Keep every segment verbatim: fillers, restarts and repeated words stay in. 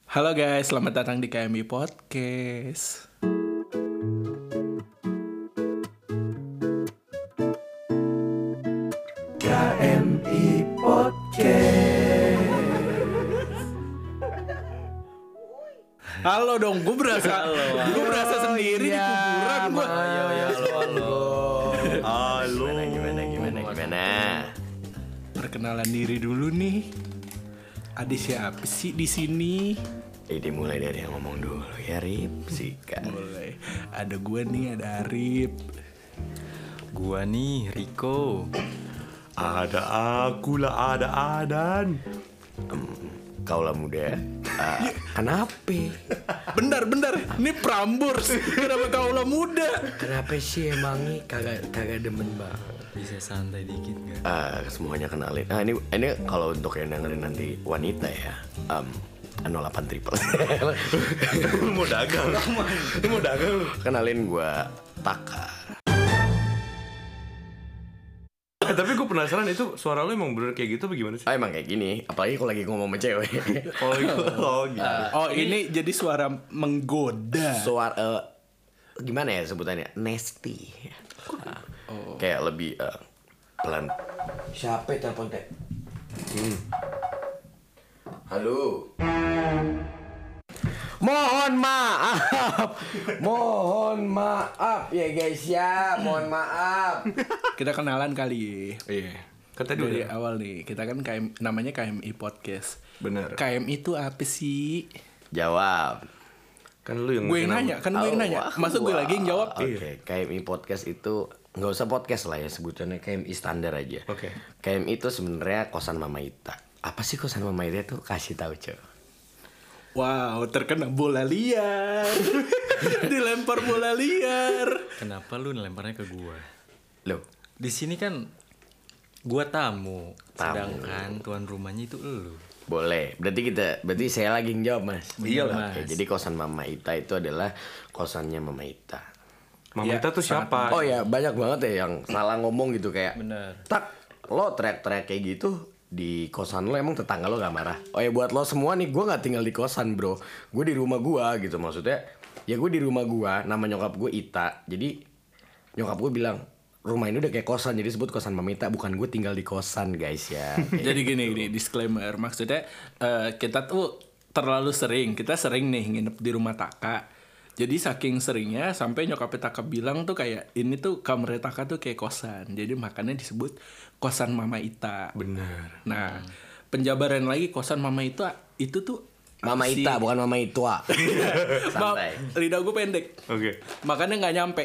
Halo guys, selamat datang di K M I Podcast. K M I Podcast. Halo dong, gue berasa, gue berasa sendiri iya, di kuburan gue. Ayo, ya, halo, halo. Halo. Gimana, gimana, gimana, gimana? Perkenalan diri dulu nih. Ada siapa sih di sini? Eh, dimulai dari yang ngomong dulu ya, Rip. Sikat. Mulai. Ada gue nih, ada Arif. Gua nih Rico. Ada aku lah, ada Adan. Um, kaulah muda. Uh, kenapa? Bentar, bentar. Ini Prambors. Kenapa kaulah muda? Kenapa sih emangnya kagak kagak demen banget? Bisa santai dikit gak? Uh, semuanya kenalin. Nah ini ini kalau untuk yang dengerin nanti wanita ya. Um, nol delapan triple. Lu mau dagang? Lu mau dagang? Kenalin gue Taka. Eh, tapi gue penasaran itu suara lu emang bener kayak gitu apa gimana sih? Oh emang kayak gini. Apalagi kalau lagi ngomong sama cewek. Oh gitu. Oh gitu. Oh ini jadi suara menggoda. Suara uh, gimana ya sebutannya? Nasty. Nah, oh. Kayak lebih uh, pelan. Siapa telepon teh? Hmm. Halo. Mohon maaf. Mohon maaf ya guys ya. Mohon maaf. Kita kenalan kali. Iya. Kata dulu Dari ya. awal nih, kita kan K M, namanya K M I Podcast. Bener. K M I itu apa sih? Jawab. Kan lu yang Gue yang nanya, kan gue yang nanya. Masa gue lagi yang jawab? Oke, okay. K M I Podcast itu nggak usah podcast lah ya sebutannya K M I standar aja. Oke. K M I itu sebenarnya kosan Mama Ita. Apa sih kosan Mama Ita tuh? Kasih tahu coy. Wow, terkena bola liar. Dilempar bola liar. Kenapa lu lemparnya ke gua? Loh, Di sini kan gua tamu, Tamu. sedangkan tuan rumahnya itu elu. boleh. Berarti kita, berarti saya lagi yang jawab mas. Iya, Oke, Mas. jadi kosan Mama Ita itu adalah kosannya Mama Ita. Mama Ya, Ita tuh siapa? Oh ya, banyak banget ya yang salah ngomong gitu kayak. Bener. Tak, lo teriak-teriak kayak gitu di kosan lo emang tetangga lo gak marah? Oh ya buat lo semua nih, gue gak tinggal di kosan bro. Gue di rumah gue gitu maksudnya. Ya gue di rumah gue, nama nyokap gue Ita. Jadi nyokap gue bilang, rumah ini udah kayak kosan, jadi sebut kosan Mama Ita. Bukan gue tinggal di kosan guys ya. Jadi gini, gini disclaimer. Maksudnya eh, kita tuh terlalu sering. Kita sering nih nginep di rumah Taka. Jadi saking seringnya sampai nyokapnya Taka bilang tuh kayak ini tuh kamar Taka tuh kayak kosan. Jadi makanya disebut kosan Mama Ita. Bener. Nah, penjabaran lagi kosan Mama Ita itu tuh Mama si- Ita bukan Mama Itua. Maaf, Santai. lidah gue pendek. Oke. Makanya nggak nyampe.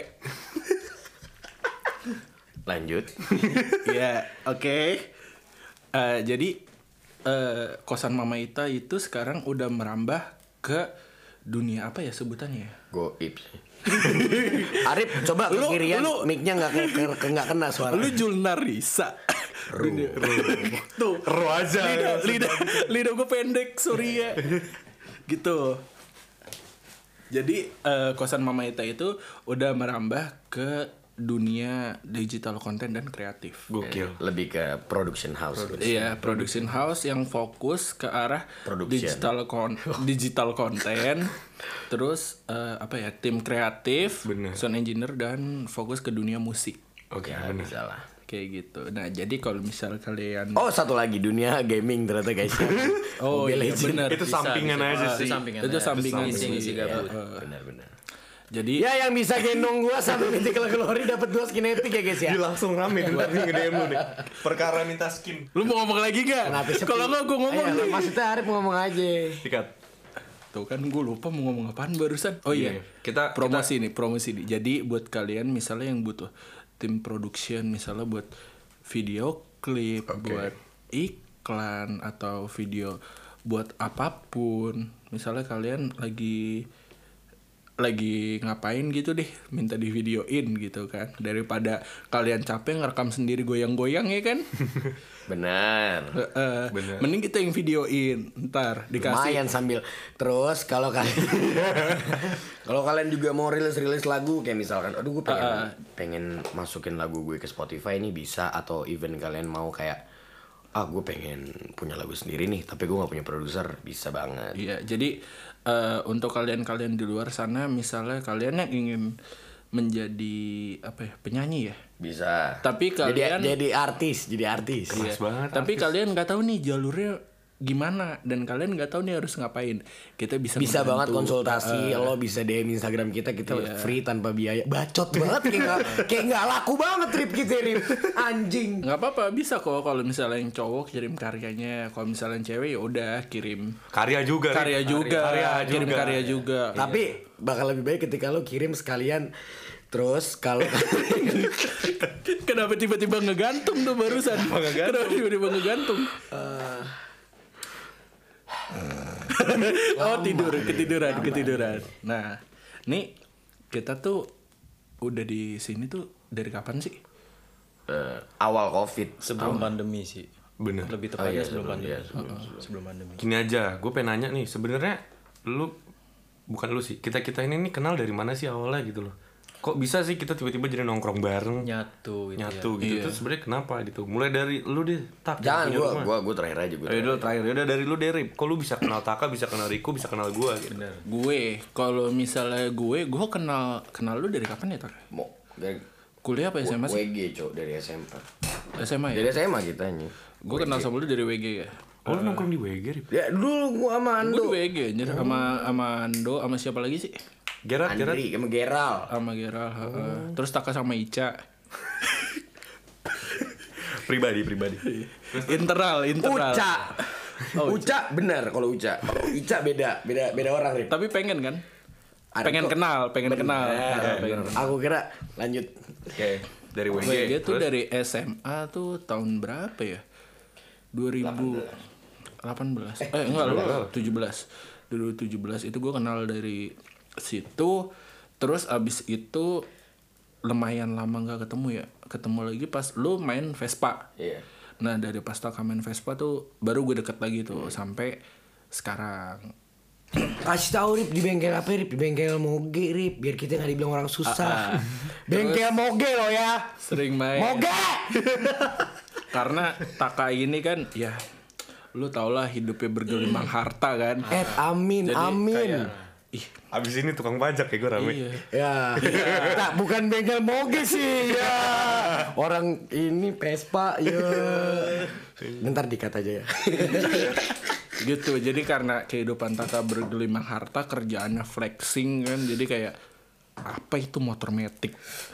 Lanjut. Ya, oke. Eh, jadi eh, kosan Mama Ita itu sekarang udah merambah ke dunia apa ya sebutannya ya? Goib. Arif coba ke Lu- kirian, lu- mic-nya nggak ke- ke- ke- nggak kena suara. Lu Julnarisa. Dunia- Tuh. Ru aja. Lidah, lidah, lidah gue pendek, sorry ya. Gitu. Jadi eh, kosan Mama Ita itu udah merambah ke dunia digital content dan kreatif. Gokil. Lebih ke production house. Iya, production house yang fokus ke arah Production. digital kon digital content, terus eh, apa ya tim kreatif, Bener. sound engineer dan fokus ke dunia musik Oke, Ya, bener. bisa lah. kayak gitu. Nah jadi kalau misal kalian Oh satu lagi dunia gaming ternyata guys. oh Mobile iya Legends. benar Itu sampingan bisa. aja Oh, sih. Itu sampingan. itu aja. sampingan Isi- sih. isi gabut. Eh, Benar-benar. jadi Ya yang bisa gendong gua sampai Mythical Glory dapat dua skin epic ya guys ya. Dia langsung rame ntar nih nge-D M lu nih. Perkara minta skin. lu mau ngomong lagi gak? Kenapa sepi? Kalau nggak gue ngomong Ayo, nih. maksudnya Arif ngomong aja. Sikat. Tuh kan gue lupa mau ngomong apaan barusan. Oh iya, Iya, kita- promosi nih, promosi nih. Jadi buat kalian misalnya yang butuh tim production, misalnya buat video klip, buat iklan atau video buat apapun. Misalnya kalian lagi lagi ngapain gitu deh, minta di videoin gitu kan. Daripada kalian capek ngerekam sendiri goyang-goyang ya kan. Benar. Eh, Bener. mending kita yang videoin, ntar dikasih. Lumayan sambil terus kalau kalian kalau kalian juga mau rilis-rilis lagu kayak misalkan aduh gue pengen Uh, uh. pengen masukin lagu gue ke Spotify ini bisa, atau even kalian mau kayak ah gue pengen punya lagu sendiri nih tapi gue nggak punya produser, bisa banget. Iya, jadi uh, untuk kalian-kalian di luar sana, misalnya kalian yang ingin menjadi apa ya, penyanyi ya, Bisa. tapi kalian jadi, jadi artis, jadi artis. Iya, banget tapi artis. kalian nggak tahu nih jalurnya gimana dan kalian nggak tahu nih harus ngapain. Kita bisa Bisa banget membantu. konsultasi, Uh, lo bisa D M Instagram kita, kita Iya. free tanpa biaya. Bacot banget kayak nggak kayak nggak laku banget trip kita Rip. Anjing. nggak apa-apa, bisa kok kalau misalnya yang cowok kirim karyanya, kalau misalnya yang cewek ya udah kirim Karya juga. Rik. karya juga, Karya kirim juga. karya juga. Tapi bakal lebih baik ketika lo kirim sekalian. Terus kalau Kenapa tiba-tiba ngegantung tuh barusan? Kenapa tiba-tiba ngegantung? Oh tidur, ketiduran, ketiduran. Nah, nih kita tuh udah di sini tuh dari kapan sih? eh, awal Covid. Sebelum pandemi sih. Bener. Lebih Oh tepatnya iya, sebelum sebelum, pandemi. iya, sebelum, Heeh, sebelum pandemi. Gini aja, gue pengen nanya nih, sebenarnya lu bukan lu sih, kita kita ini nih kenal dari mana sih awalnya gitu loh? Kok bisa sih kita tiba-tiba jadi nongkrong bareng, Nyatu gitu nyatu ya. gitu? Iya. Terus sebenarnya kenapa gitu? Mulai dari lu deh, tak. Jangan punya gue rumah. gue gue terakhir aja gue. Ayo dulu terakhir, udah dari lu deh, Rip. Kok lu bisa kenal Taka, bisa kenal Riko, bisa kenal gue gitu? Bener. Gue, kalau misalnya gue, gue kenal kenal lu dari kapan ya, Tak? Mau dari Kuliah apa S M A sih? W G cok dari S M A. S M A ya? Dari S M A kita nih. Gue kenal sama lu dari W G ya. Oh, lu nongkrong di W G, Rip? Ya dulu gue sama Gue Ando. di W G anjir, sama sama Ando, sama siapa lagi sih? Gerak, gerak. Andri sama Geral. Sama Geral, heeh. Terus Taka sama Ica. Pribadi, pribadi. Internal, internal. Uca. Oh, Uca benar kalau Uca. Ica beda, beda beda orang Rip. Tapi pengen kan? Ada Pengen kok. kenal, pengen kenal. Eh, Pengen. Aku kira lanjut. Oke, dari W G. W G tuh terus? dari S M A tuh tahun berapa ya? dua ribu delapan belas. Eh, enggak lu tujuh belas. dua ribu tujuh belas itu gue kenal dari situ. Terus abis itu lumayan lama nggak ketemu ya. Ketemu lagi pas lu main Vespa. Iya. Nah dari pas Taka main Vespa tuh baru gue deket lagi tuh sampai sekarang. Kasih tahu Rip di bengkel apa Rip? Di bengkel Moge Rip, biar kita nggak dibilang orang susah. Bengkel Moge lo ya. Sering main. Moge. Karena Taka ini kan ya lu tau lah hidupnya bergelimang harta kan. Eh amin Jadi amin. kayak, ih Abis ini tukang pajak ya gue rame. iya. Ya, nah, bukan bengkel Moge sih ya. Orang ini Vespa ya. Bentar dikat aja ya. Gitu, jadi karena kehidupan Taka bergelimang harta, kerjaannya flexing kan, jadi kayak apa itu motor metik.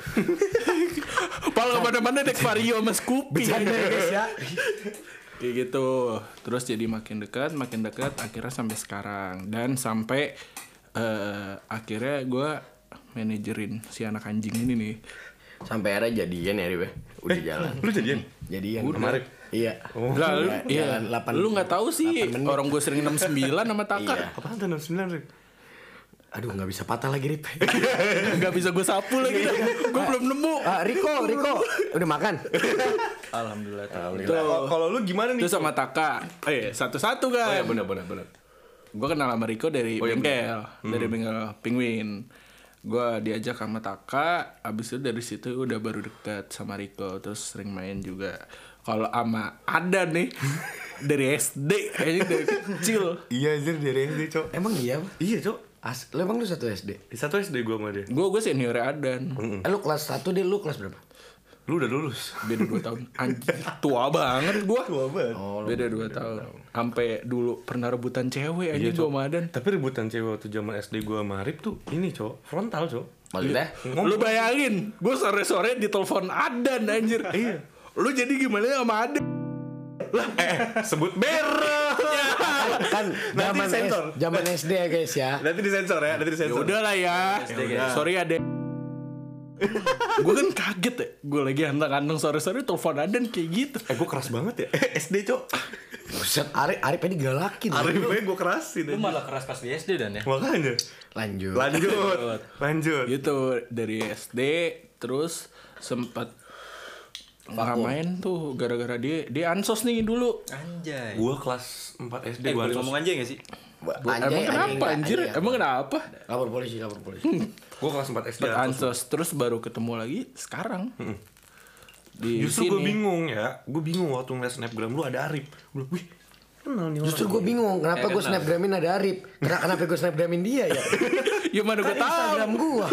Paling kemana-mana naik Vario sama Scoopy. Bercanda ya guys ya. Kayak gitu. Terus jadi makin dekat, makin dekat, akhirnya sampai sekarang. Dan sampai eh, akhirnya gue manajerin si anak anjing ini nih. Sampai akhirnya jadian ya Rip. ya? Udah jalan. Lu jadian? Jadian. Kemarin? Iya. Lah, lu, Jalan- iya. jalan delapan- Lu nggak tahu sih delapan menit. orang gue sering enam sembilan sama Taka. Iya. Apaan tuh enam puluh sembilan, Rip? Aduh nggak bisa patah lagi Rip. Nggak bisa gue sapu lagi dah. Gue belum nemu. Ah, Riko, Riko, udah makan? Alhamdulillah. Kalau kalau lu gimana nih? Terus sama Taka. Eh, satu-satu Oh kan. ya benar benar benar. Gue kenal sama Riko dari Oh, iya, bengkel, dari bengkel Penguin. Gue diajak sama Taka, abis itu dari situ udah baru dekat sama Riko, terus sering main juga. Kalau sama Ada nih dari S D, kayaknya dari kecil. Iya anjir dari S D, Cok. Emang iya? Iya, Cok. As, lu emang lu satu S D? Di satu S D gua sama dia. Gue gue senior Adan, Eh, lu kelas satu deh, lu kelas berapa? Lu udah lulus. beda dua tahun. Anjir, tua banget gue. Tua banget. Oh, Beda dua tahun. Sampai dulu pernah rebutan cewek aja Iya, gue Cok. sama Adan. Tapi rebutan cewek waktu zaman S D gua sama Rip tuh ini, Cok. Frontal, Cok. Maksudnya? Lu bayangin, gue sore-sore ditelepon Adan anjir. Iya. Lu jadi gimana sama Adan? Eh, sebut merek. Kan Nanti zaman sensor. S- zaman S D ya guys ya. Nanti disensor ya, nanti Ya disensor. udah lah ya. Sorry Ade. Gue kan kaget ya. Gue lagi anteng-anteng sore-sore telepon Adan kayak gitu. Eh, gua keras banget ya. S D, Cok. Buset, Arif Arif ini galakin. Arifnya gua kerasin. Lu anjir. malah keras pas di S D dan ya. Makanya. Lanjut. Lanjut. Lanjut. Gitu dari S D terus sempat nggak main tuh gara-gara dia dia ansos nih dulu. Anjay. Gua kelas empat S D Eh, gua boleh ansos. ngomong anjay gak sih? Emang kenapa anjir? Emang kenapa? Lapor polisi, lapor polisi. Gua kelas empat S D Sempat ansos. ansos terus baru ketemu lagi sekarang. di Justru sini. gue bingung ya, gue bingung waktu ngeliat snapgram lu ada Arif. Gue bilang, wih, kenal nih orang. Justru gue bingung kenapa gue snapgramin ada Arif. Kenapa kenapa gue snapgramin dia ya? Ya mana gue Kan tahu. Instagram gue.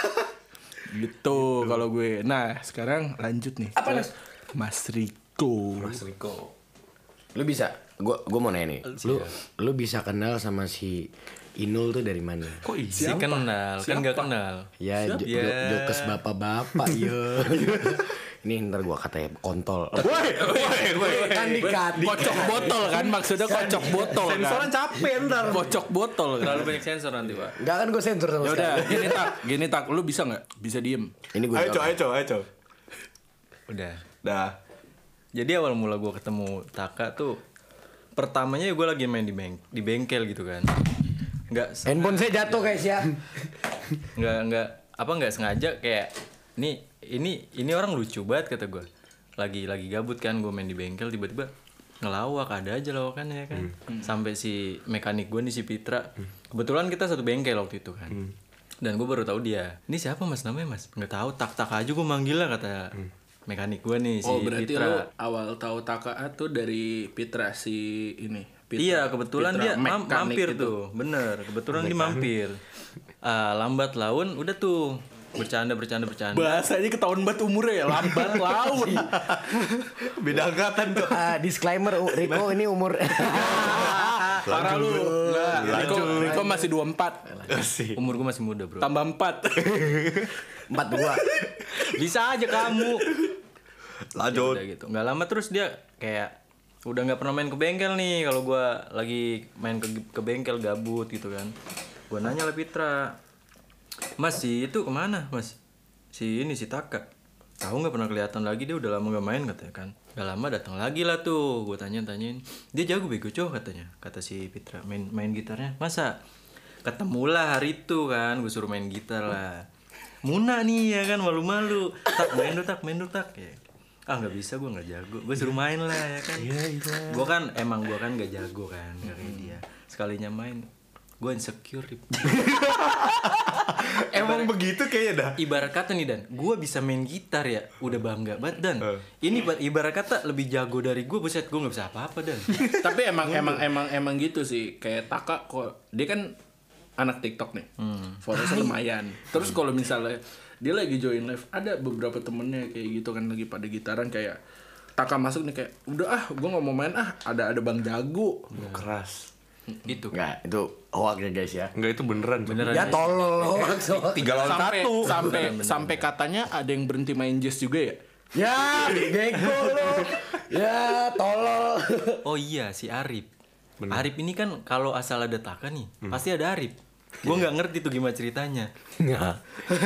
Gitu kalau gue. Nah, sekarang lanjut nih. Apa, ke Nas? Mas Riko. Mas Riko. Lu bisa, gue gue mau nanya nih. Lu lu bisa kenal sama si Inul tuh dari mana? Kok Si iya? kenal, kan gak kenal. Ya, jo- Ya. jo- jokes bapak-bapak ya. Ini ntar gua katanya kontol. Woi, woi, woi. Kan dikat. Kocok botol kan maksudnya kocok botol kan. Sensoran capek ntar. Kocok botol kan. Terlalu banyak sensor nanti, Pak. Enggak kan gue sensor sama Ya udah, sekali. gini tak, gini tak, lu bisa nggak? Bisa diem. Ini gue Ayo, co, ayo, co, ayo, co. Udah. Dah. Jadi awal mula gue ketemu Taka tuh pertamanya gue lagi main di beng di bengkel gitu kan. Nggak se- Handphone saya jatuh guys ya. nggak nggak apa nggak sengaja kayak ini ini ini orang lucu banget kata gue. Lagi lagi gabut kan gue main di bengkel tiba-tiba ngelawak, ada aja lawakannya kan. Sampai si mekanik gue nih si Pitra. Kebetulan kita satu bengkel waktu itu kan. Dan gue baru tahu dia. Ini siapa Mas namanya Mas? Nggak tahu, tak-tak aja gue manggil lah kata mekanik gue nih si Oh berarti Pitra. lu awal tahu Taka tuh dari Pitra si ini. Pitra, Iya kebetulan Pitra dia mam- mekanik mampir itu. tuh, bener. Kebetulan dia mampir. Ah, lambat laun udah tuh bercanda bercanda bercanda. Bahasanya ketahuan banget umurnya ya, lambat laun. Beda angkatan tuh. Ah, disclaimer U- Riko ini umur Parah lu. Enggak, Riko, Riko masih dua puluh empat. Asik. Umur gue masih muda bro. Tambah empat. empat dua. Bisa aja kamu. Lanjut. Udah gitu. Nggak lama terus dia kayak udah nggak pernah main ke bengkel nih. Kalau gue lagi main ke, ke bengkel gabut gitu kan. Gue nanya lah Pitra, Mas si itu kemana Mas? Si ini si Taka. Tahu nggak pernah kelihatan lagi, dia udah lama gak main katanya kan. Gak lama datang lagi lah tuh. Gue tanya tanyain, dia jago bego cowok katanya. Kata si Pitra main main gitarnya. Masa? Ketemulah hari itu kan, gue suruh main gitar lah. Muna nih ya kan, malu-malu. Tak main dulu tak main dulu tak. Ya. Ah nggak bisa, gue nggak jago. Gue suruh main lah ya kan. Gue kan emang gue kan nggak jago kan, nggak kayak dia. Sekalinya main, gue insecure. Rip. Emang begitu kayaknya dah. Ibarat kata nih Dan, gue bisa main gitar ya, udah bangga banget Dan. Eh. Ini ba- ibarat kata lebih jago dari gue, buset gue nggak bisa apa-apa Dan. Tapi emang emang emang emang gitu sih. Kayak Taka kok dia kan anak TikTok nih. Followersnya lumayan. Terus kalau misalnya dia lagi join live, ada beberapa temennya kayak gitu kan lagi pada gitaran kayak Taka masuk nih kayak udah ah gue nggak mau main ah ada ada Bang Jago. Keras. Itu kan. Enggak, itu hoax ya guys ya. Enggak itu beneran. Cok. Beneran. Ya tolol hoax. hoax. Tiga lawan Sampai satu. sampai sampai katanya ada yang berhenti main jazz juga ya. Ya, bego lo. Ya, tolol. Oh iya si Arif. Arif ini kan kalau asal ada Taka nih, pasti ada Arif. Gue nggak ngerti tuh gimana ceritanya. Enggak.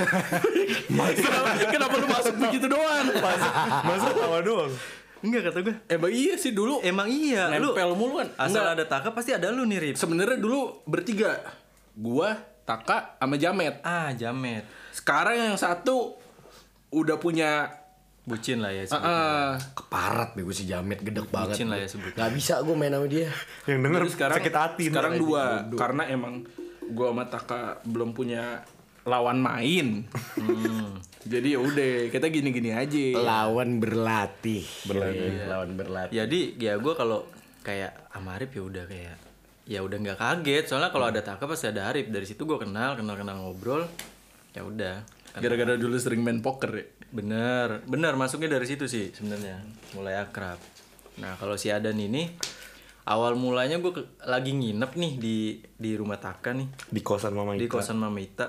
kenapa, kenapa lu masuk begitu doang? Masa tawa doang. Enggak kata gue. Emang iya sih dulu. Emang iya, lu Nempel mulu kan. asal Enggak. ada Taka pasti ada lu nih Rip. Sebenarnya dulu bertiga. Gua, Taka, sama Jamet. Ah Jamet, Sekarang yang satu udah punya bucin lah ya. sebutnya. uh, Keparat bego si Jamet gedek banget. Bucin lah ya sebutnya. Gak bisa gue main sama dia. Yang denger jadi sekarang sakit hati. sekarang ntar. dua karena emang gua sama Taka belum punya lawan main. Jadi ya udah kita gini-gini aja. Lawan berlatih. Berlatih. Lawan berlatih. Jadi ya gue kalau kayak sama Arif ya udah kayak ya udah nggak kaget soalnya kalau ada Taka pasti ada Arif. Dari situ gue kenal kenal kenal ngobrol ya udah. Gara-gara dulu sering main poker ya. Bener bener masuknya dari situ sih sebenarnya mulai akrab. Nah kalau si Adan ini awal mulanya gue ke- lagi nginep nih di di rumah Taka nih Di kosan Mama di Ika. kosan Mama Ita.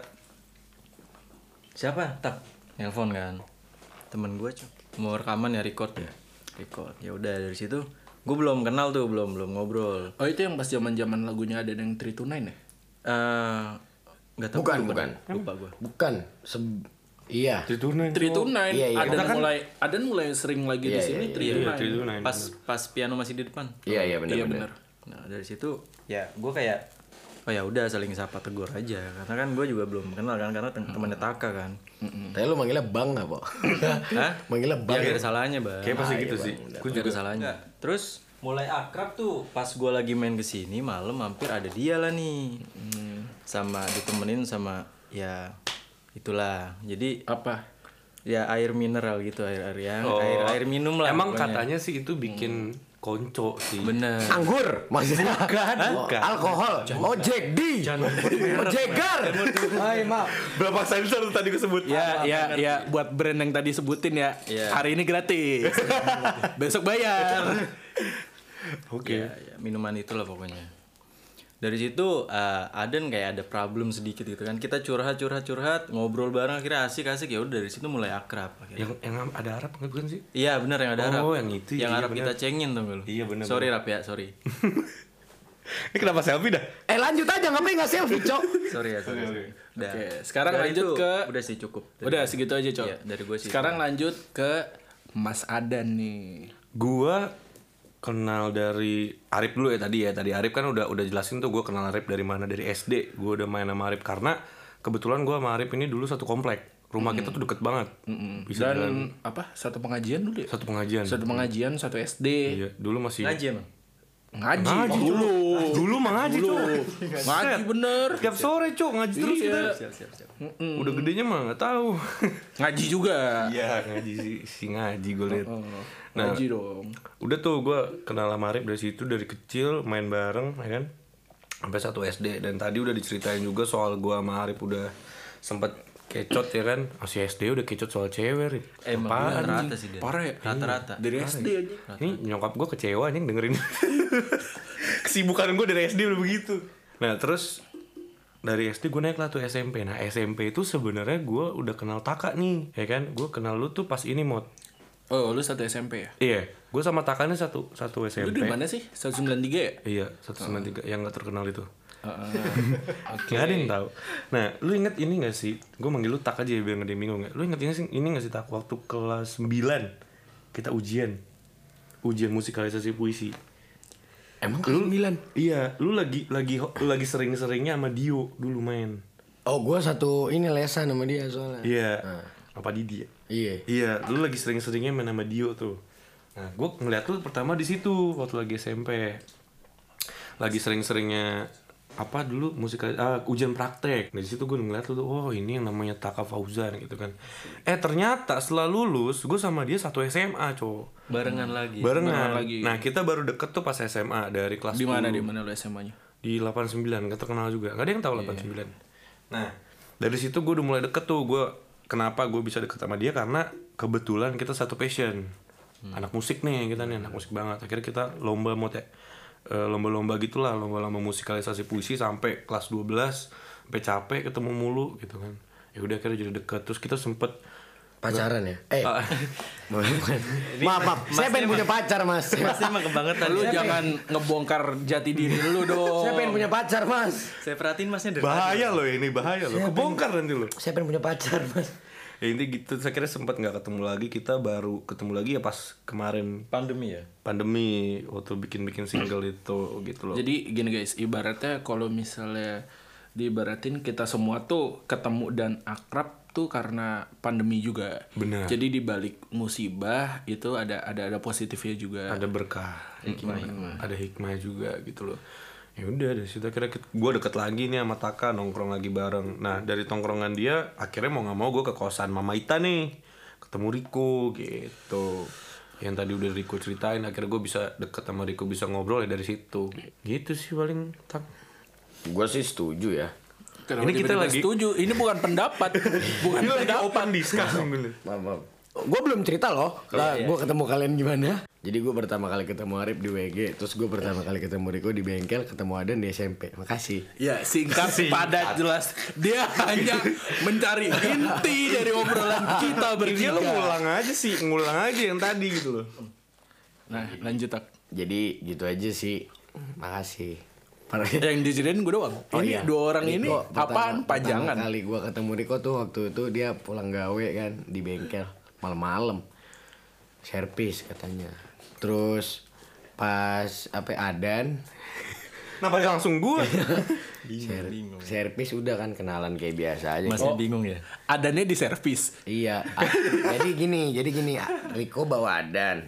Siapa Tak nelpon kan temen gue cuy mau rekaman ya record ya record ya udah dari situ gue belum kenal tuh belum belum ngobrol. Oh itu yang pas zaman-zaman lagunya ada yang three to nine ya? Eh nggak tahu Bukan, lupa, bukan. lupa gue. Bukan. Se- iya. Itu nih. three to nine. Iya, iya. Adan Kita kan- mulai Adan mulai sering lagi di Iya, sini iya, three to Iya, nine. itu nine. Pas pas piano masih di depan. Iya, iya benar Iya benar. benar. Nah dari situ ya gue kayak oh ya udah saling sapa tegur aja karena kan gue juga belum kenal kan karena tem- temannya Taka kan. Tapi lu manggilnya Bang enggak, Po? Hah? Manggilnya Ya Bang. gak ada salahnya bang. Kayak pasti Ah, gitu iya, sih. Bang. Gue Gak juga ada salahnya. Terus mulai akrab tuh pas gue lagi main kesini malam hampir ada dia lah nih. Sama ditemenin sama ya itulah. Jadi Apa? Ya air mineral gitu, air air yang Oh. air air minum lah. Emang pokoknya. katanya sih itu bikin konco sih. Bener. Anggur maksudnya Bukan, Oh, bukan. alkohol. Oh Jack D. Oh Jagger. Hai maaf. Berapa sensor tuh tadi gue sebut? Ya, ya, ya, buat brand yang tadi sebutin ya. Iya. Hari ini gratis. Besok bayar. Oke. Ya, ya, minuman itulah pokoknya. Dari situ uh, Aden kayak ada problem sedikit gitu kan. Kita curhat curhat curhat, ngobrol bareng akhirnya asik-asik ya udah dari situ mulai akrab akhirnya. Yang yang ada Arab nggak bukan sih? Iya benar yang ada Arab. Oh, yang itu, Yang iya, Arab bener. kita cengin tuh lu. Iya, bener, Sorry Rap ya, sorry. Ini kenapa selfie dah? Eh lanjut aja ngapain nggak selfie cok? sorry ya, sorry. sorry. Udah. Oke, sekarang Dari lanjut itu, ke- udah sih cukup. Dari Udah gua. segitu aja, Cok. Iya, dari gue sih. Sekarang lanjut ke Mas Adan nih. Gua kenal dari Arif dulu ya tadi ya. Tadi Arif kan udah udah jelasin tuh gue kenal Arif dari mana, dari S D. Gue udah main sama Arif karena kebetulan gue sama Arif ini dulu satu komplek. Rumah kita tuh deket banget. Bisa Dan jalan apa? Satu pengajian dulu ya? satu pengajian. Satu pengajian, satu S D. Iya, dulu masih Ngaji emang. Ngaji, Ngaji, dulu. dulu mah ngaji Dulu. tuh. Ngaji bener. Tiap sore, Cok, ngaji terus Iya. kita. Siap, siap, siap. Udah gedenya mah nggak tahu. Ngaji juga. Iya, ngaji si, si ngaji gue liat. Oh, Nah, ngaji dong. udah tuh gue kenal sama Arif dari situ, dari kecil main bareng ya kan sampai satu S D. Dan tadi udah diceritain juga soal gue sama Arif udah sempet kecot ya kan. Masih S D udah kecot soal cewek Rif. Emang Apaan, rata-rata anjing? sih dia. Parah ya? Rata-rata. Dari S D aja. Ini nyokap gue kecewa nih dengerin. Kesibukan gue dari S D udah begitu. Nah terus dari S D gue naik lah tuh S M P. Nah S M P itu sebenarnya gue udah kenal Taka nih, ya kan? Gue kenal lu tuh pas ini Mod. Oh, lu satu S M P ya? Iya, gue sama Taka nih satu satu S M Lu P. di mana sih? seratus sembilan puluh tiga ya? Iya, seratus sembilan puluh tiga yang gak terkenal itu. Heeh. Gak ada yang tahu. Nah, lu inget ini gak sih? Gue manggil lu Tak aja ya biar gak ada yang bingung ya. Lu inget ini sih ini gak sih Tak waktu kelas sembilan kita ujian. Ujian musikalisasi puisi. Emang kelas sembilan? Iya, lu lagi lagi lu lagi sering-seringnya sama Dio dulu main. Oh gue satu ini lesan sama dia soalnya. Iya. Apa Didi ya? Iya. Iya, lu lagi sering-seringnya main sama Dio tuh. Nah, gue ngeliat lu pertama di situ waktu lagi S M P. Lagi sering-seringnya apa dulu musikal ah, ujian praktek. Dari situ gue ngeliat lu tuh, oh ini yang namanya Taka Fauzan gitu kan. Eh ternyata setelah lulus gue sama dia satu S M A, cowok. Barengan lagi. Barengan. Barengan lagi. Nah, kita baru deket tuh pas S M A dari kelas Di mana sepuluh. di mana lu S M A-nya? Di delapan puluh sembilan, gak terkenal juga. Gak ada yang tahu delapan puluh sembilan. Nah, dari situ gue udah mulai deket tuh. Gue kenapa gue bisa deket sama dia karena kebetulan kita satu passion. Anak musik nih, kita nih anak musik banget. Akhirnya kita lomba mau teh eh, lomba-lomba gitulah, lomba-lomba musikalisasi puisi sampai kelas dua belas, sampai capek ketemu mulu gitu kan. Ya udah akhirnya jadi deket. Terus kita sempet Pacaran ya? Eh Ah. maaf maaf, maaf. Saya pengen punya pacar mas. Pasti emang kebangetan. Lu Saya jangan ngebongkar jati diri lu dong. Saya pengen punya pacar mas. Saya perhatiin masnya dari bahaya loh ini, bahaya loh. Kebongkar nanti loh. Saya pengen punya pacar mas. Ya intinya gitu, saya kira sempat nggak ketemu lagi. Kita baru ketemu lagi ya pas kemarin pandemi ya. pandemi waktu bikin-bikin single itu gitu loh. Jadi gini guys, ibaratnya kalau misalnya diibaratin kita semua tuh ketemu dan akrab tuh karena pandemi juga. Benar. Jadi di balik musibah itu ada ada ada positifnya juga. Ada berkah, hikmah, ada hikmah juga gitu loh. Ya udah dari situ akhirnya gue deket lagi nih sama Taka, nongkrong lagi bareng. Nah dari tongkrongan dia akhirnya mau nggak mau gue ke kosan Mama Ita nih, ketemu Riko gitu. Yang tadi udah Riko ceritain, akhirnya gue bisa deket sama Riko, bisa ngobrol ya dari situ. Gitu sih paling Tak. Gue sih setuju ya. Kenapa Ini kita tiba-tiba lagi- setuju. Ini bukan pendapat, bukan Ini lagi pendapat. open discussion dulu. Maaf maaf. Gue belum cerita loh. Lah gue ketemu kalian gimana? Jadi gue pertama kali ketemu Arif di W G, terus gue pertama kali ketemu Riko di bengkel, ketemu Adan di S M P. Makasih. Ya singkat, padat, jelas. Dia hanya mencari inti dari obrolan kita Dia bertiga. lo ngulang aja sih, ngulang aja yang tadi gitu loh. Nah lanjut Tak. Jadi gitu aja sih. Makasih. Parah. Yang diceritain gue doang. Oh Ini iya. dua orang ini Riko, pertama- apaan? Pajangan. Pertama kali gue ketemu Riko tuh waktu itu dia pulang gawe kan di bengkel malam-malam. Servis katanya. Terus pas apa Adan Kenapa langsung gue? ser- servis udah kan kenalan kayak biasa aja. Masnya bingung ya. Adanya di servis. Iya. a- jadi gini, jadi gini, a- Riko bawa Adan.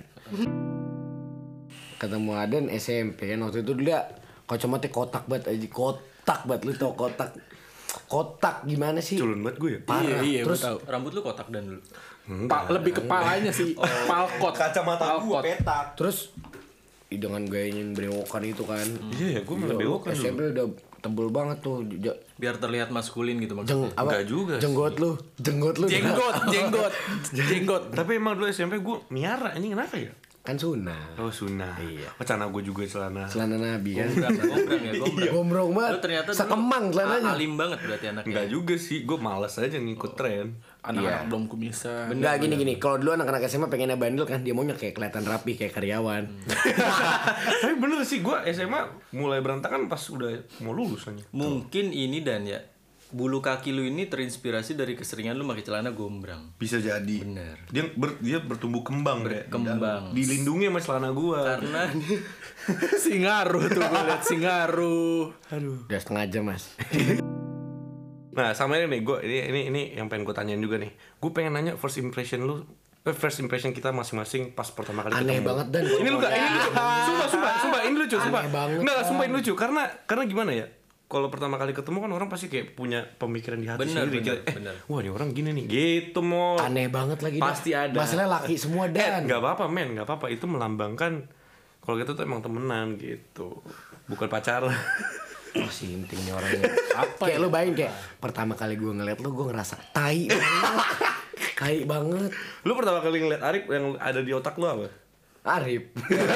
Ketemu Adan S M P kan waktu itu dia kacamata kotak banget aja, kotak banget lu tau kotak. kotak gimana sih? Culun banget gue ya. Parah. Iya, iya, Terus gue tahu. Rambut lu kotak dan dulu. Pa- lebih kepalanya sih. Palkot. Kacamata gue Palkot. petak. terus ih, dengan gayanya yang berewokan itu kan. Iya ya, gue malah bewokan S M P dulu. udah tebel banget tuh. J- Biar terlihat maskulin gitu Jeng, maksudnya. apa? Enggak juga sih. Jenggot lu, jenggot lu. Jenggot, jenggot, jenggot. Tapi emang dulu S M P gue miara, ini kenapa ya? Kan sunah. Oh sunnah. Iya. Oh, celana gue juga celana. Celana Nabi kan. Gombrang, gombrang ya, gombrang. Gombrong banget. Lu ternyata dulu sekemang celananya. alim banget berarti anaknya. Enggak juga sih, gue males aja ngikut tren. Anak-anak Iya. belum kumisan. Enggak gini-gini. Kalau dulu anak-anak S M A pengennya bandel kan, dia maunya kayak kelihatan rapi kayak karyawan. Tapi bener sih, gue S M A mulai berantakan pas udah mau lulus aja. Mungkin ini dan ya bulu kaki lu ini terinspirasi dari keseringan lu pakai celana gombrang. Bisa jadi. Bener. Dia ber, dia bertumbuh kembang, Bre. Kembang. Dilindungi sama celana gue. Karena Singaruh tuh gue liat Singaruh. Aduh. Udah setengah jam mas. Nah sama ini nih, gue ini ini ini yang pengen gue tanyain juga nih. Gue pengen nanya first impression lu, eh, first impression kita masing-masing pas pertama kali Aneh ketemu. banget, Dan. Ini lu gak? Ini lucu. Sumpah, sumpah, sumpah. Ini lucu, sumpah. Aneh banget, Nggak, Dan. sumpah ini lucu. Karena karena gimana ya? Kalau pertama kali ketemu kan orang pasti kayak punya pemikiran di hati Bener, sendiri. bener, Kayak, eh, bener. wah ini orang gini nih, gitu mau. Aneh banget lagi. Dan. Pasti ada. Masalahnya laki semua Eh, Dan. nggak apa-apa men, nggak apa-apa. Itu melambangkan kalau kita tuh emang temenan gitu, bukan pacaran. Oh si intinya orangnya. Apa kayak lu bayangin kayak pertama kali gue ngeliat lu gue ngerasa tai banget. Tai banget. Lu pertama kali ngeliat Arif yang ada di otak lu apa? Arif.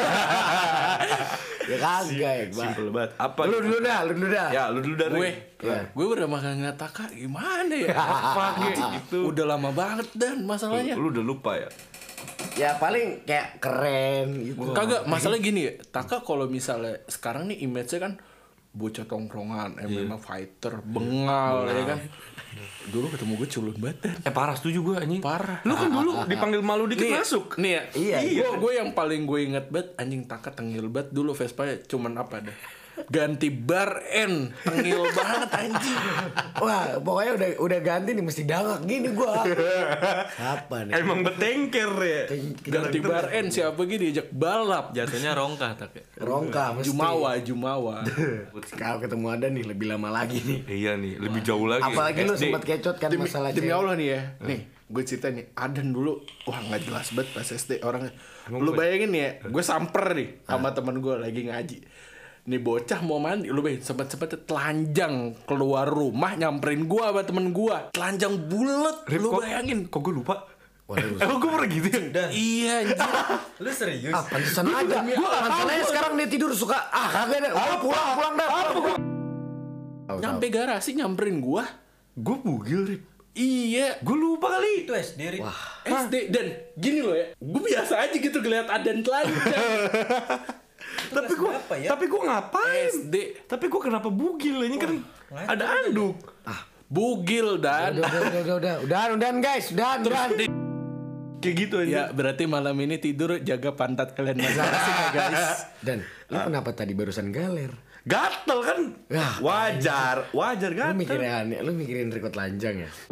Ya kagak ya, Bang. Simple banget. Apa? Lu dulu dah, lu dulu dah. Ya, lu dulu dari. Gue, Ya. gue udah makan ngeliat Taka gimana ya? Apa gitu? Udah lama banget dan masalahnya. Lu udah lupa ya? Ya paling kayak keren gitu. Kagak, masalah gini ya. Taka kalau misalnya sekarang nih image-nya kan bocah tongkrongan, M M A fighter, bengal, ya kan. Dulu ketemu gue culun banget Dan. Eh parah setuju gue anjing. Parah. Lu kan dulu dipanggil malu dikit Nih, masuk. Nih ya, Iya, iya. Gue yang paling gue inget banget anjing Taka tengil banget dulu Vespa cuman apa dah. Ganti bar N, tengil banget anjing. Wah, pokoknya udah udah ganti nih mesti dangak gini gua. Apa nih? Emang betengker ya. Ganti bar N siapa gini diajak balap. jatuhnya rongkah tak ya. Rongka mesti. Jumawa, Jumawa. Kalau ketemu ada nih lebih lama lagi nih. Iya nih, lebih jauh lagi. Apalagi lu S D. sempat kecot kan Demi, masalah demi cewek. Allah nih ya. Nih, gue cerita nih. Adan dulu, wah nggak jelas banget pas S D orangnya. Lu bayangin nih ya, gue samper nih sama teman gue lagi ngaji. Nih bocah mau mandi, lu bayangin sempet-sempet telanjang keluar rumah nyamperin gue sama temen gue. Telanjang bulet, Rip, lu kok- bayangin. Kok gue lupa? Waduh. Emang gue pernah gitu ya? Iya anjir. Lu serius? Ah, pantesan aja. Gua pantesan aja sekarang dia tidur suka ah kagak deh. Oh, pulang pulang dah. pulang. Nyampe garasi nyamperin gue. Gue bugil, Rip. Iya. Gue lupa kali. Itu S D Rik. S D dan gini loh ya. Gue biasa aja gitu ngeliat Adan telanjang. Tapi gue, Kenapa ya? tapi gue ngapain? S D. Tapi gue kenapa bugil? Ini kan ada anduk. Bugil dan. Udah udah udah udah udah udah guys, udah udah. Kayak gitu aja. Ya berarti malam ini tidur jaga pantat kalian masing-masing ya guys. Dan lu kenapa tadi barusan galer? Gatel kan? Ya. Wajar, wajar Lu gatel. mikirin aneh, lu mikirin record lanjang ya?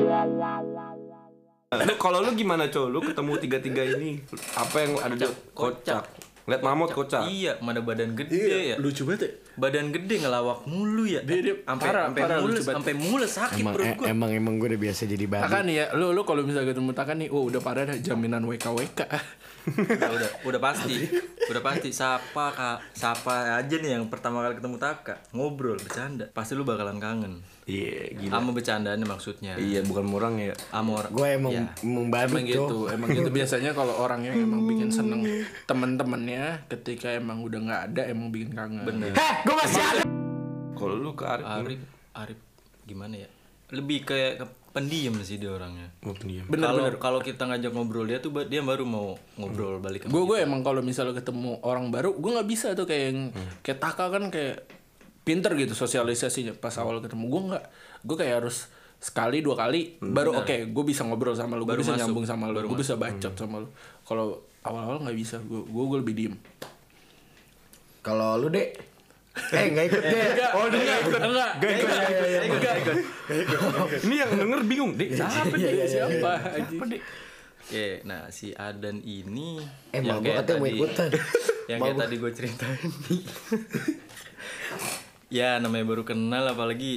Lu kalau lu gimana, Cow? Lu ketemu tiga-tiga ini apa yang ada di kocak? Lihat mamut kocak. Iya, mana badan gede ya. Lucu banget ya. Badan gede ngelawak mulu ya. Dia- dia sampai parah, sampai parah, mules, lucu banget. sampai mules sakit Emang perut eh, gua. emang emang gue udah biasa jadi babi. Takan nih ya, lu lu kalau misalnya ketemu Takan nih, oh udah parah dah jaminan W K W K. udah, udah udah pasti. Udah pasti sapa Kak, sapa aja nih yang pertama kali ketemu Taka, ngobrol, bercanda. Pasti lu bakalan kangen. Iya, gila. Sama bercandaannya maksudnya. Iya, bukan murang ya. Sama orang. Gue emang Ya. emang babi Emang gitu, Cok. emang gitu biasanya kalau orang yang emang bikin seneng teman-temannya ketika emang udah nggak ada emang bikin kangen. Bener. Heh, gue masih ada. Kalau lu ke Arif, Arif, Arif gimana ya? Lebih kayak ke pendiam sih dia orangnya. gue pendiam. Bener Kalau bener. kalau kita ngajak ngobrol dia tuh ba- dia baru mau ngobrol balik ke Gue gue emang kalau misalnya ketemu orang baru, gue nggak bisa tuh kayak yang kayak Taka kan kayak pinter gitu sosialisasinya pas awal ketemu. Gue nggak, gue kayak harus sekali dua kali baru oke gue bisa ngobrol sama lu, gue Baru bisa masuk. nyambung sama lu, Baru gue bisa bacot sama lu. Kalau awal-awal nggak bisa, gue gue gue lebih diem. Kalau lu dek, eh nggak ikut deh. Oh enggak, enggak, enggak, Gak ikut, enggak, enggak. Ini yang denger bingung, Dek. Siapa Iya, dia? siapa? anjing? Oke, nah si Adan ini Eh, mal gua katanya mau ikutan. yang Mal kayak gua- tadi gue ceritain. Ya namanya baru kenal apalagi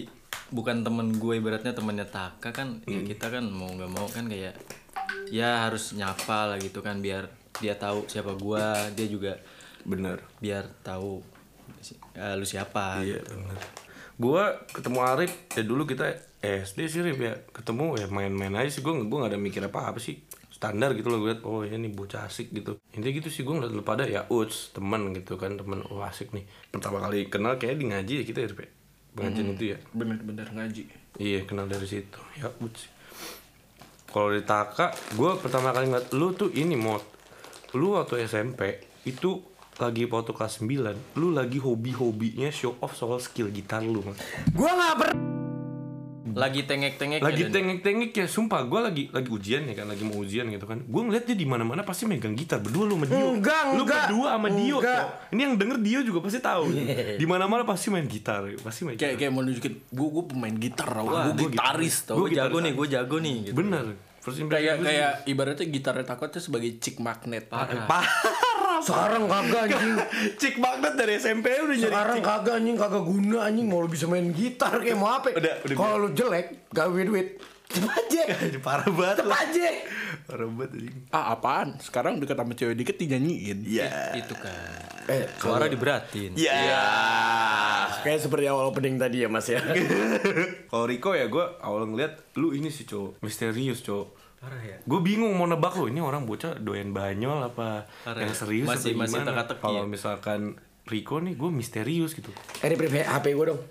bukan temen gue, ibaratnya temennya Taka kan, Hmm. ya kita kan mau nggak mau kan kayak ya harus nyapa lah gitu kan, biar dia tahu siapa gue, dia juga Bener. biar tahu uh, lu siapa. Iya Gitu. bener. Gue ketemu Arif ya dulu kita S D sih Rif ya, ketemu ya main-main aja sih, gue gue nggak ada mikir apa apa sih, standar gitu loh gue liat, oh ini bocah asik gitu, intinya gitu sih. Gue ngeliat lu pada ya uts teman gitu kan, teman oh asik nih, pertama kali kenal kayak di ngaji ya kita ya Rif ya, pengajian Hmm. itu ya. Bener-bener ngaji. Iya kenal dari situ ya uts. Kalau di Taka gue pertama kali ngeliat lu tuh ini mod, lu waktu S M P itu lagi waktu kelas sembilan, lu lagi hobi-hobinya show off soal skill gitar lu Mat. Gue nggak pernah. Lagi tengek-tengek Lagi tengek-tengek ya, sumpah gue lagi lagi ujian ya kan, lagi mau ujian gitu kan. Gue ngeliat dia di mana-mana pasti megang gitar berdua lu sama Dio. Enggak, Lu enggak. berdua sama Dio. Enggak. Toh. Ini yang denger Dio juga pasti tahu. Di mana-mana pasti main gitar, pasti main Kayak gitar. kayak mau nunjukin gue gue pemain gitar tau, Wah, gue gua gitaris tau. gue jago nih, gue jago nih gitu. Bener. First impression Kayak gua kayak ibaratnya gitarnya takutnya sebagai chick magnet. Parah. Sekarang kagak anjing. Cik banget dari S M P udah jadi Sekarang kagak anjing, kagak guna anjing. Mau lu bisa main gitar kayak mau apa? Udah, udah Kalau lu jelek, gak duit. Cepet aja. parah banget. Cepet aja. Parah banget anjing. Ah apaan? Sekarang deket sama cewek dikit dinyanyiin. Iya. Itu kan. Eh, Suara diberatin. Iya. kayak seperti awal opening tadi ya Mas ya. Kalau Rico ya gue awal ngeliat lu ini sih cowok misterius cowok. Parah ya. Gue bingung mau nebak lo, ini orang bocah doyan banyol apa Parah yang ya. serius Masih- apa masih gimana. teka-teki Kalau ya. misalkan Rico nih gue misterius gitu. Eh, Rip, Rip, H P gue dong.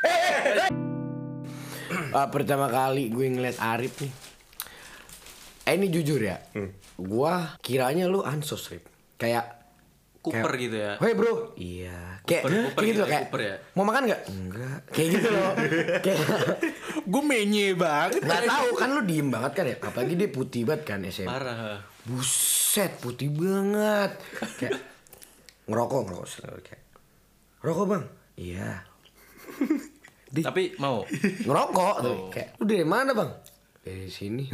Ah, pertama kali gue ngeliat Arif nih. Eh ini jujur ya. Gua kiranya lu ansos, Rip. Kayak Cooper gitu ya. Hei bro, iya. Kayak, Cooper- Cooper kayak gitu gitu loh, ya, kayak Cooper ya? mau makan nggak? Enggak. Kayak gitu loh. Kayak Gue menye banget. nggak tahu kan lu diem banget kan ya. Apalagi dia putih banget kan S M P. Parah. Buset, putih banget. Kayak ngerokok ngerokok selalu kayak. Rokok bang? Iya. Di- Tapi mau. ngerokok tuh. Kayak lu dari mana bang? Dari sini.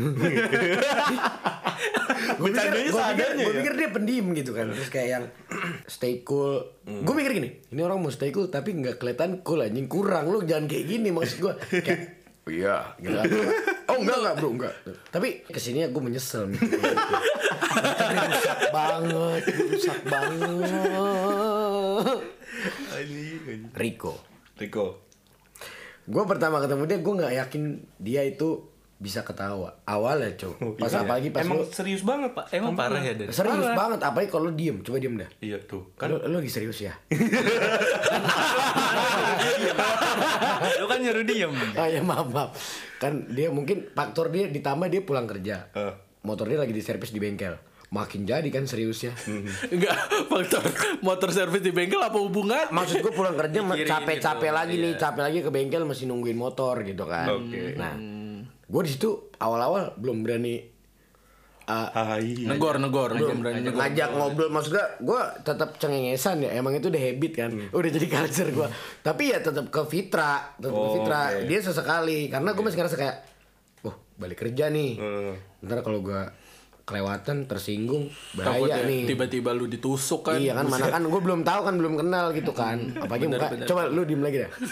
Gue pikir, Bercandanya gua pikir, seadanya gua ya? pikir dia pendiam gitu kan. Terus kayak yang stay cool. Gue mikir gini, ini orang mau stay cool tapi nggak kelihatan cool anjing, kurang. Lu jangan kayak gini maksud gue. Kayak oh iya, gitu. Oh enggak enggak bro enggak. Tapi kesini gue menyesal nih. Rusak banget, rusak banget. Rico. Rico. Gue pertama ketemu dia, gue nggak yakin dia itu bisa ketawa. Awalnya cow. Pas apalagi pas Emang lu serius banget pak. Emang parah ya dari. serius banget. Apalagi kalau lu diem, coba diem dah. Iya tuh. Kan lu, lu lagi serius ya? Lu kan nyuruh diem. Ah ya maaf maaf. Kan dia mungkin faktor dia ditambah dia pulang kerja. Eh. Motor dia lagi di servis di bengkel. Makin jadi kan seriusnya. Enggak, faktor motor servis di bengkel apa hubungan? Maksud gue pulang kerja ma- Pikirin capek-capek gitu, lagi iya. nih, capek lagi ke bengkel masih nungguin motor gitu kan. Oke. Nah, gue di situ awal-awal belum berani uh, Hai. Negor, negor, belum berani negor. ngajak ngobrol. Maksudnya gue tetap cengengesan ya. Emang itu udah habit kan. Udah jadi culture gue. Tapi ya tetap ke Fitra, tetap ke Oh, Fitra. oke. Dia sesekali karena gue masih ngerasa kayak, wah balik kerja nih. Hmm. Ntar kalau gue kelewatan tersinggung bahaya Takutnya nih. tiba-tiba lu ditusuk kan. Iya kan, mana kan gue belum tahu kan, belum kenal gitu kan. Apalagi muka, coba lu diem lagi dah.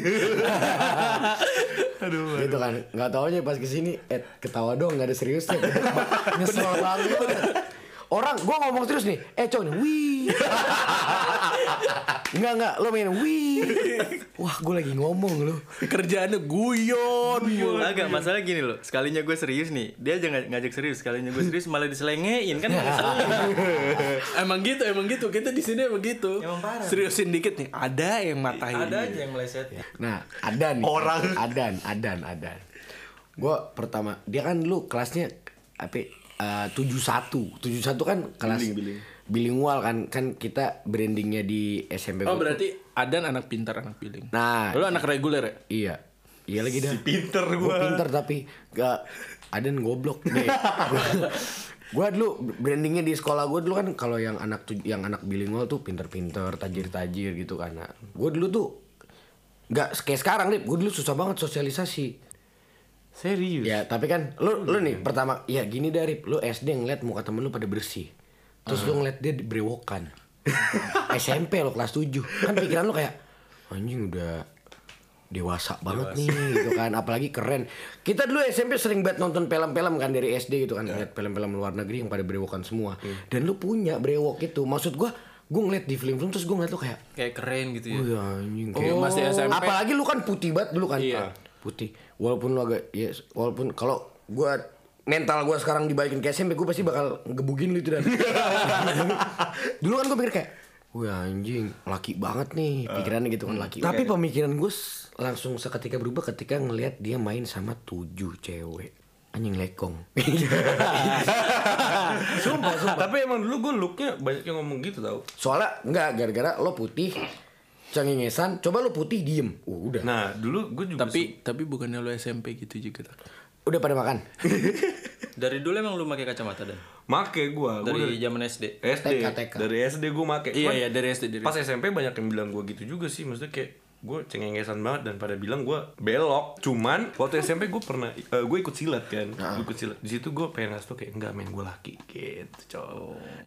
Aduh. Gitu kan, nggak taunya pas kesini, eh ketawa dong, nggak ada seriusnya. Nyesel banget. Orang, gue ngomong terus nih, eh cowok nih, wih. Enggak enggak, lo main wih. Wah, gue lagi ngomong lo. Kerjaannya guyon. Agak masalah gini loh. Sekalinya gue serius nih, dia aja ng- ngajak serius. Sekalinya gue serius malah diselengein kan. Emang gitu, emang gitu. Kita di sini emang gitu. Emang parah. Seriusin dikit nih, ada yang matahin. Ada aja yang meleset. Nah, ada nih. Orang. Adan, Adan, Adan. Gue pertama, dia kan lu kelasnya apa? Uh, tujuh satu tujuh satu kan kelas Billing, billing. bilingual kan, kan kita brandingnya di S M P. Oh gua tuh- berarti Adan anak pintar, anak piling. Nah, Lu anak reguler ya? iya. Iya lagi dah. Pinter Gue gua. pinter tapi gak ada yang goblok nih. Gue dulu brandingnya di sekolah gue dulu kan kalau yang anak tuj- yang anak bilingual tuh pinter-pinter, tajir-tajir gitu kan. Nah, gue dulu tuh nggak kayak sekarang nih. Gue dulu susah banget sosialisasi. Serius. Ya tapi kan lu lu nih pertama ya gini dari lu S D ngeliat muka temen lu pada bersih. Terus lu ngeliat dia brewokan. S M P lo kelas tujuh. Kan pikiran lu kayak anjing udah dewasa banget nih gitu kan, apalagi keren. Kita dulu S M P sering banget nonton film-film kan dari S D gitu kan, lihat film-film luar negeri yang pada brewokan semua. Dan lu punya brewok itu, maksud gua, gua ngeliat di film-film terus gua ngeliat lu kayak Kayak keren gitu ya. oh ya anjing. Kayak masih S M P. Apalagi lu kan putih banget dulu kan. Iya. Putih. Walaupun lu agak ya walaupun kalau gua mental gua sekarang dibalikin ke S M P gua pasti bakal ngebugin lu itu dan. Dulu kan gua pikir kayak wah anjing, laki banget nih pikirannya gitu kan laki. Tapi pemikiran gue langsung seketika berubah ketika ngelihat dia main sama tujuh cewek. Anjing lekong. Sumpah, sumpah. Tapi emang dulu gue looknya banyak yang ngomong gitu tau. Soalnya enggak gara-gara lo putih cengengesan, coba lo putih diem. Uh, udah. Nah dulu gue juga Tapi tapi bukannya lu S M P gitu juga tak? Udah pada makan. Dari dulu emang lu pakai kacamata dan? make gue Dari zaman S D. S D T K, T K. dari S D gue make. Iya Cuman iya dari S D dari pas S M P banyak yang bilang gue gitu juga sih, maksudnya kayak gue cengengesan banget dan pada bilang gue belok. Cuman waktu S M P gue pernah uh, gue ikut silat kan, gue ikut silat. Di situ gue pengen ngasih tau kayak enggak men, gue laki gitu cowok.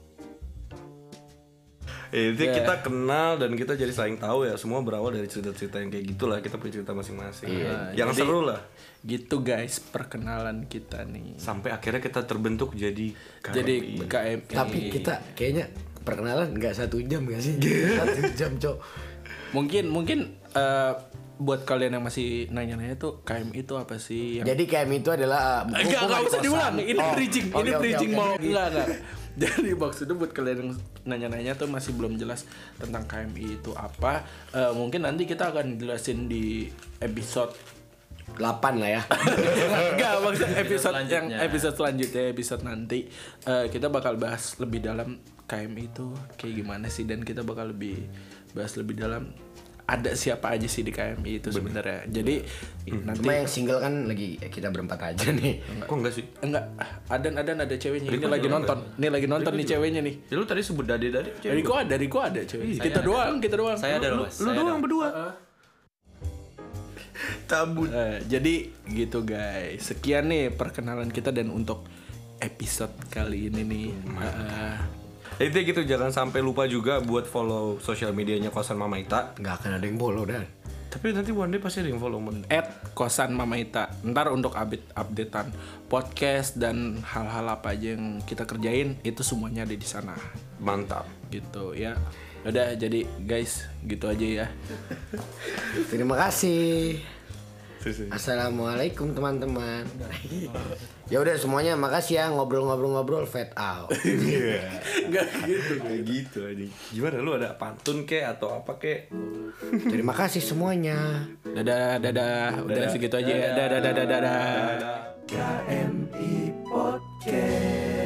Eh, itu Yeah. kita kenal dan kita jadi saling tahu ya, semua berawal dari cerita-cerita yang kayak gitulah, kita punya cerita masing-masing. Iya, yang jadi- seru lah. Gitu guys perkenalan kita nih. Sampai akhirnya kita terbentuk jadi Jadi K M I. Tapi kita kayaknya perkenalan nggak satu jam gak sih? Satu jam cok. Mungkin mungkin eh, buat kalian yang masih nanya-nanya tuh K M I itu apa sih? Yang... Jadi K M itu adalah Enggak, hubungan enggak usah kosan. diulang. Ini Oh, bridging, oke, ini oke, bridging oke. mau enggak enggak. Jadi maksudnya buat kalian yang nanya-nanya tuh masih belum jelas tentang K M I itu apa. Eh, mungkin nanti kita akan jelasin di episode delapan lah ya. enggak maksudnya episode yang selanjutnya. episode selanjutnya episode nanti eh, kita bakal bahas lebih dalam K M I itu kayak gimana sih, dan kita bakal lebih bahas lebih dalam ada siapa aja sih di K M I itu sebenarnya. Jadi nanti Cuma yang single kan lagi kita berempat aja nih. Kok enggak sih? enggak adan adan ada ceweknya. Ini Riko lagi juga nonton. Ini lagi nonton nih ceweknya nih. Ya lu tadi sebut dade-dade cewek. Riko ada, Riko ada cewek. Kita doang, kita doang. Saya ada loh, Mas. Lu Saya doang ada. berdua. Cabut. Eh, jadi gitu guys. Sekian nih perkenalan kita dan untuk episode kali ini nih. Eh, Itu gitu, jangan sampai lupa juga buat follow sosial medianya Kosan Mama Ita. Nggak akan ada yang bolo dan. Tapi nanti one day pasti ada yang follow man. at kosan Mama Ita. Ntar untuk update updatean podcast dan hal-hal apa aja yang kita kerjain itu semuanya ada di sana. Mantap. Gitu ya. Udah jadi guys, gitu aja ya. Terima kasih. Assalamualaikum teman-teman. Ya udah semuanya makasih ya, ngobrol-ngobrol-ngobrol fade out. Enggak gitu. Kayak gitu aja. Gimana lu ada pantun kek atau apa kek? Terima kasih semuanya. Dadah, dadah. Udah segitu aja ya. Dadah, dadah, dadah, dadah. K M I Podcast.